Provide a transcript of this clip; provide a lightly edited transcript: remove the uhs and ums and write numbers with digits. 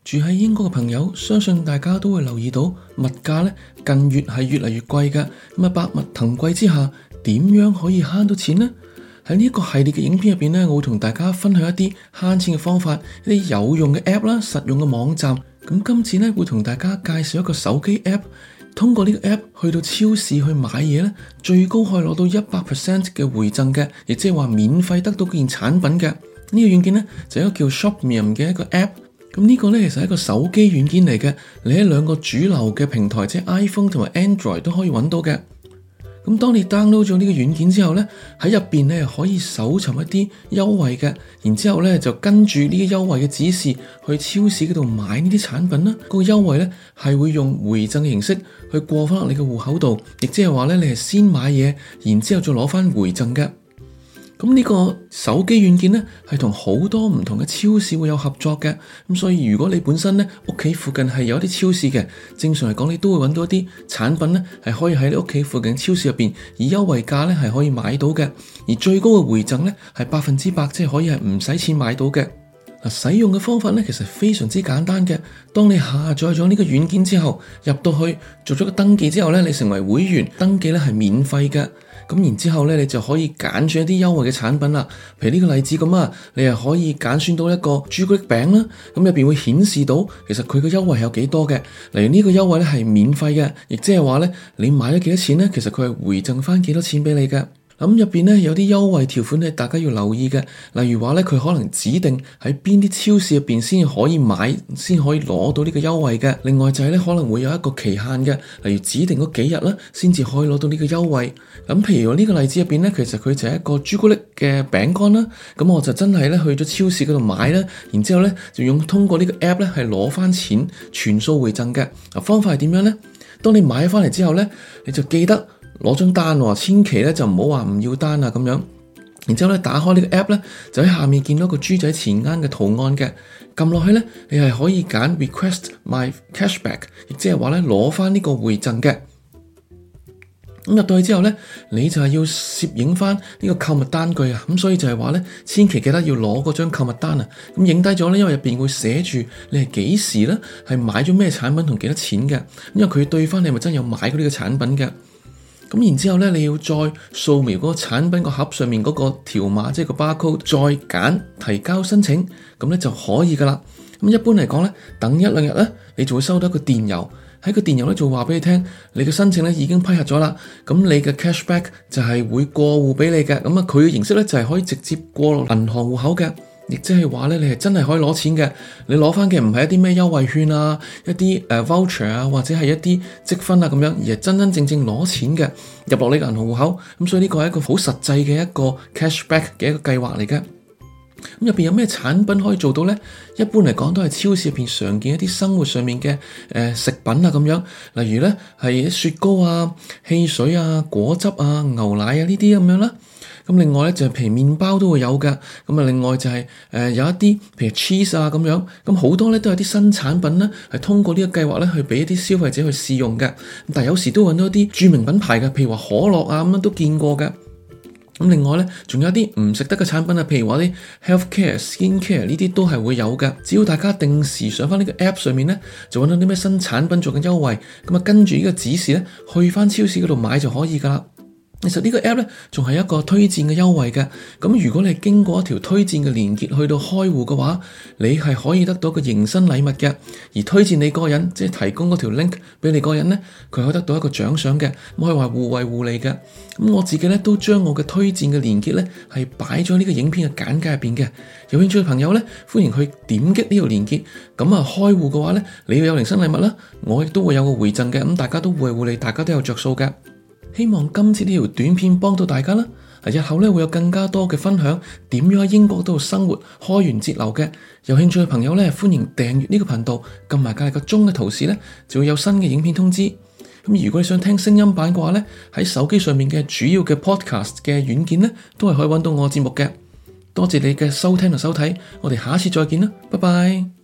住喺英國嘅朋友，相信大家都會留意到物價咧近月係越嚟越貴嘅。咁啊，百物騰貴之下，點樣可以慳到錢呢？喺呢一個系列嘅影片入邊咧，我會同大家分享一啲慳錢嘅方法，一啲有用嘅 app 啦，實用嘅網站。咁今次咧會同大家介紹一個手機 app， 通過呢個 app 去到超市去買嘢咧，最高可以攞到 100% 嘅回贈嘅，亦即係話免費得到件產品嘅。呢個軟件咧就係一個叫 Shopmium 嘅一個 app。咁呢個咧其實係一個手機軟件嚟嘅，你喺兩個主流嘅平台，即係 iPhone 同埋 Android 都可以揾到嘅。咁當你 download 咗呢個軟件之後咧，喺入邊咧可以搜尋一啲優惠嘅，然之後咧就跟住呢啲優惠嘅指示去超市嗰度買呢啲產品啦。個優惠咧係會用回贈嘅形式去過翻落你嘅戶口度，亦即係話咧你係先買嘢，然之後再攞翻回贈嘅。咁呢個手機軟件咧係同好多唔同嘅超市會有合作嘅，咁所以如果你本身咧屋企附近係有一啲超市嘅，正常嚟講你都會揾到一啲產品咧係可以喺你屋企附近超市入邊以優惠價咧係可以買到嘅，而最高嘅回贈咧係100%，即係可以係唔使錢買到嘅。使用嘅方法咧其實非常之簡單嘅。當你下載咗呢個軟件之後，入到去做咗個登記之後咧，你成為會員，登記咧係免費嘅。咁然之後咧，你就可以揀選一啲優惠嘅產品啦。譬如呢個例子咁啊，你係可以揀選到一個朱古力餅啦。咁入邊會顯示到其實佢個優惠係有幾多嘅。例如呢個優惠咧係免費嘅，亦即係話咧你買咗幾多錢咧，其實佢係回贈翻幾多錢俾你嘅。咁入邊咧有啲優惠條款係大家要留意嘅，例如話咧佢可能指定喺邊啲超市入邊先可以買，先可以攞到呢個優惠嘅。另外就係咧可能會有一個期限嘅，例如指定嗰幾日啦，先至可以攞到呢個優惠。咁譬如呢個例子入邊咧，其實佢就係一個朱古力嘅餅乾啦。咁我就真係咧去咗超市嗰度買啦，然之後咧就通過呢個 app 咧係攞翻錢，全數回贈嘅。方法係點樣咧？當你買翻嚟之後咧，你就記得攞張單喎，千祈咧就唔好話唔要單啊咁樣。然之後咧打開呢個 app 咧，就喺下面見到個豬仔錢罌嘅圖案嘅，撳落去咧，你係可以揀 request my cashback， 亦即係話咧攞翻呢個回贈嘅。咁入到去之後咧，你就係要攝影翻呢個購物單據啊。咁所以就係話咧，千祈記得要攞嗰張購物單啊。咁影低咗咧，因為入邊會寫住你係幾時咧係買咗咩產品同幾多錢嘅。因為佢對翻你係咪真有買過呢個產品嘅。咁然之後咧，你要再掃描嗰個產品個盒上面嗰個條碼，即係個 barcode，再揀提交申請，咁咧就可以噶啦。咁一般嚟講咧，等一兩日咧，你就會收到一個電郵，喺個電郵咧就話俾你聽，你嘅申請咧已經批核咗啦。咁你嘅 cashback 就係會過戶俾你嘅。咁啊，佢嘅形式咧就係可以直接過落銀行戶口嘅。亦即係話咧，你係真係可以攞錢嘅。你攞翻嘅唔係一啲咩優惠券啊，一啲voucher 啊，或者係一啲積分啊咁樣，而係真真正正攞錢嘅入落你個銀行戶口。咁所以呢個係一個好實際嘅一個 cashback 嘅一個計劃嚟嘅。咁入邊有咩產品可以做到咧？一般嚟講都係超市入邊常見一啲生活上面嘅食品啊咁樣，例如咧係雪糕啊、汽水啊、果汁啊、牛奶啊呢啲咁樣啦。咁另外咧就係譬如麵包都會有㗎。咁啊另外就係有一啲譬如 cheese 啊咁樣。咁好多咧都有啲新產品咧係通過呢個計劃咧去俾一啲消費者去試用嘅。但係有時都揾到一啲著名品牌嘅，譬如話可樂啊咁樣都見過嘅。咁另外咧，仲有啲唔食得嘅產品啊，譬如話啲 healthcare、skincare 呢啲都係會有嘅。只要大家定時上翻呢個 app 上面咧，就揾到啲咩新產品做緊優惠，咁啊跟住呢個指示咧，去翻超市嗰度買就可以噶啦。其實呢個 app 咧仲係一個推薦嘅優惠嘅。咁如果你係經過一條推薦嘅連結去到開戶嘅話，你係可以得到個迎新禮物嘅。而推薦你嗰個人，即係提供嗰條 link 俾你嗰個人咧，佢可以得到一個獎賞嘅。咁可以話互惠互利嘅。咁我自己咧都將我嘅推薦嘅連結咧係擺咗呢個影片嘅簡介入邊嘅。有興趣嘅朋友咧，歡迎去點擊呢條連結。咁啊開戶嘅話咧，你要有迎新禮物啦，我亦都會有個回贈嘅。咁大家都互惠互利，大家都有着數嘅。希望今次呢條短片幫到大家啦。日後咧會有更加多嘅分享，點樣喺英國度生活開源節流嘅。有興趣嘅朋友咧，歡迎訂閱呢個頻道，撳埋隔籬個鐘嘅圖示咧，就會有新嘅影片通知。咁如果你想聽聲音版嘅話咧，喺手機上面嘅主要嘅 podcast 嘅軟件咧，都係可以揾到我嘅節目嘅。多謝你嘅收聽同收睇，我哋下次再見啦，拜拜。